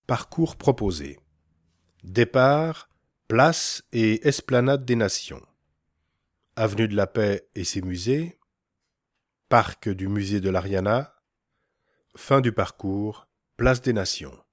Parcours proposé. Départ, place et esplanade des Nations. Avenue de la Paix et ses musées. Parc du musée de l'Ariana. Fin du parcours, place des Nations.